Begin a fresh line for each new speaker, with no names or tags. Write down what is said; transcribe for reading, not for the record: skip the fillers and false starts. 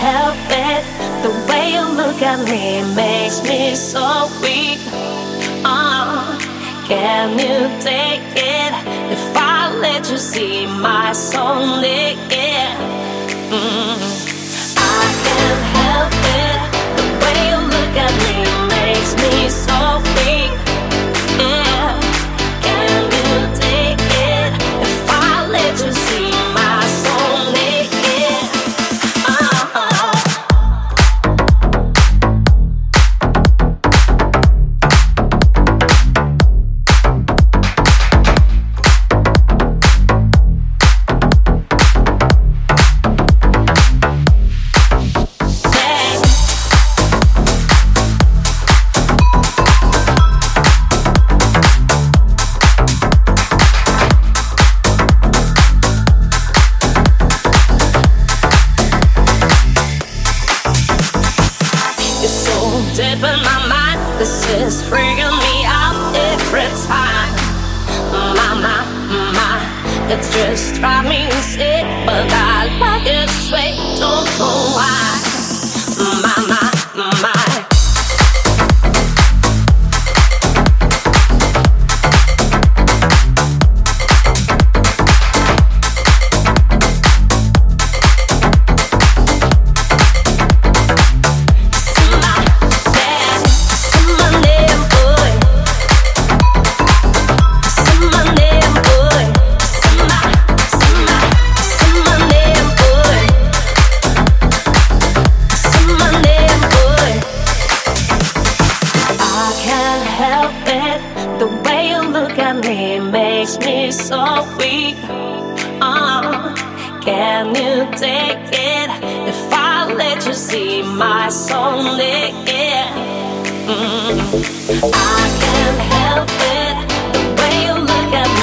help it. The way you look at me makes me so weak. Can you take it if I let you see my soul naked? I can't help it. The way you look at me makes me so weak. Yeah. Can you take it if I let you see my soul naked? Deep in my mind, this is freaking me out every time. My, it's just driving me sick, but I like it sweet, don't know why. My. Makes me so weak. Can you take it if I let you see my soul naked? I can't help it. The way you look at me